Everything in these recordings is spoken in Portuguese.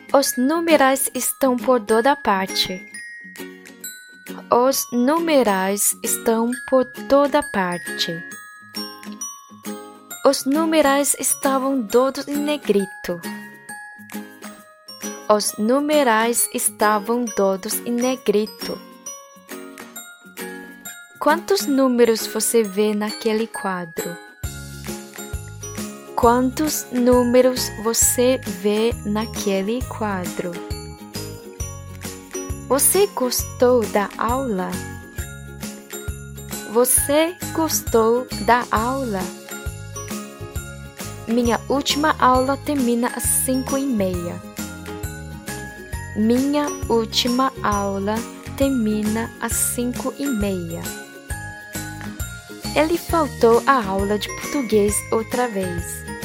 Os numerais estão por toda parte. Os numerais estão por toda parte. Os numerais estavam todos em negrito. Os numerais estavam todos em negrito. Quantos números você vê naquele quadro? Quantos números você vê naquele quadro? Você gostou da aula? Você gostou da aula? Minha última aula termina às 5:30. Minha última aula termina às 5:30. Ele faltou à aula de português outra vez.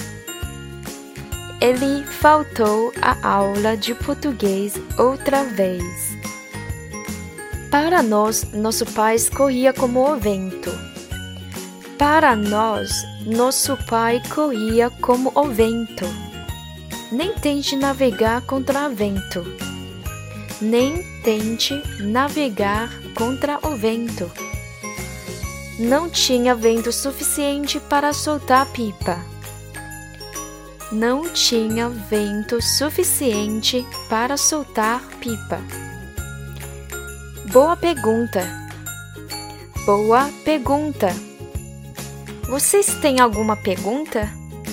Ele faltou à aula de português outra vez. Para nós, nosso pai corria como o vento. Para nós, nosso pai corria como o vento. Nem tente navegar contra o vento. Nem tente navegar contra o vento. Não tinha vento suficiente para soltar a pipa. Não tinha vento suficiente para soltar pipa. Boa pergunta. Boa pergunta. Vocês têm alguma pergunta?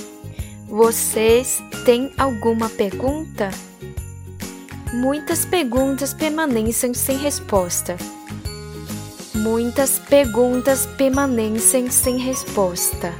Vocês têm alguma pergunta? Muitas perguntas permanecem sem resposta. Muitas perguntas permanecem sem resposta.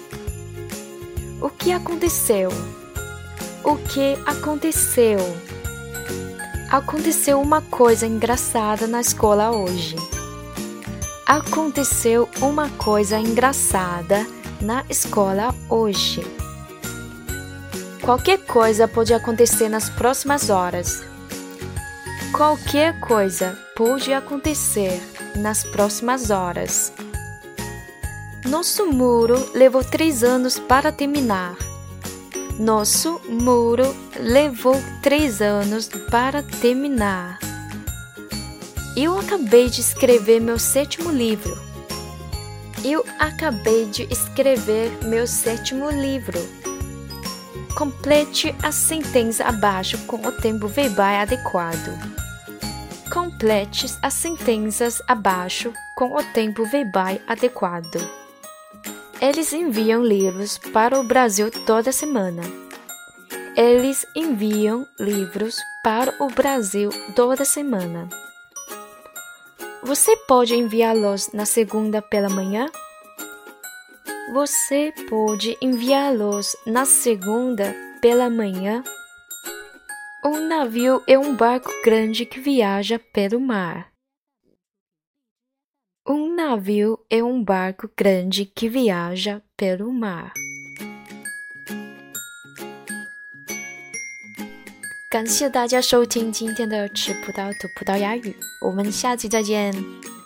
O que aconteceu? O que aconteceu? Aconteceu uma coisa engraçada na escola hoje. Aconteceu uma coisa engraçada na escola hoje. Qualquer coisa pode acontecer nas próximas horas. Qualquer coisa pode acontecer nas próximas horas. Nosso muro levou 3 anos para terminar. Nosso muro levou 3 anos para terminar. Eu acabei de escrever meu 7º livro. Eu acabei de escrever meu 7º livro. Complete a sentença abaixo com o tempo verbal adequado. Complete as sentenças abaixo com o tempo verbal adequado. Eles enviam livros para o Brasil toda semana. Eles enviam livros para o Brasil toda semana. Você pode enviá-los na segunda pela manhã? Você pode enviá-los na segunda pela manhã? Um navio é um barco grande que viaja pelo mar. Um navio é um barco grande que viaja pelo mar. 感谢大家收听今天的吃葡萄吐葡萄牙语，我们下期再见。